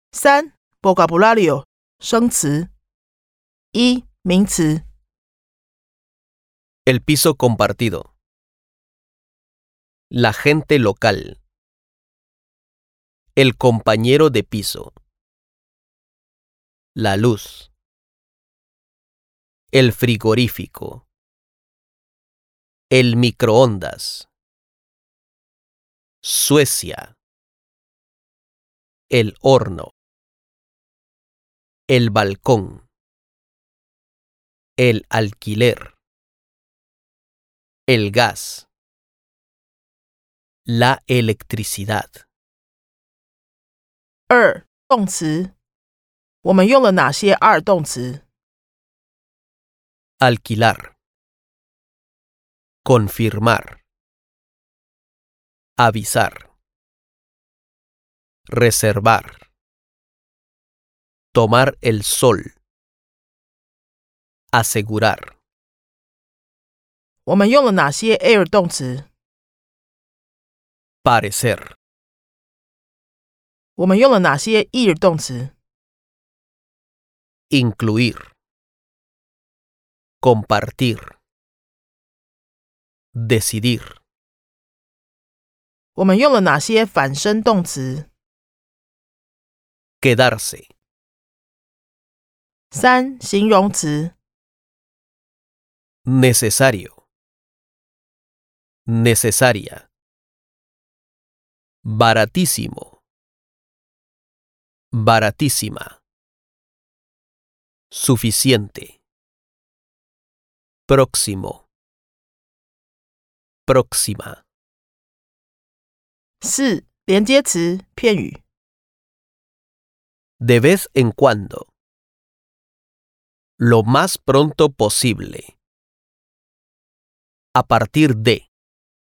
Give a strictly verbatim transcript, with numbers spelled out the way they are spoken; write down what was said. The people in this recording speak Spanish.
三 vocabulario 生詞。一名詞 El piso compartido. La gente local. El compañero de piso. La luz. El frigorífico. El microondas. Suecia. El horno. El balcón. El alquiler. El gas. La electricidad. 二动詞我們用了哪些二動詞 Alquilar. Confirmar. Avisar. Reservar. Tomar el sol. Asegurar. 我們用了哪些 air 動詞 Parecer. 我們用了哪些 ear 動詞 Incluir. Compartir. Decidir. 我們用了哪些反身動詞 Quedarse. 三形容詞 Necesario. Necesaria. Baratísimo. Baratísima. Suficiente. Próximo. Próxima. 四連接詞片語 De vez en cuando. Lo más pronto posible. A partir de.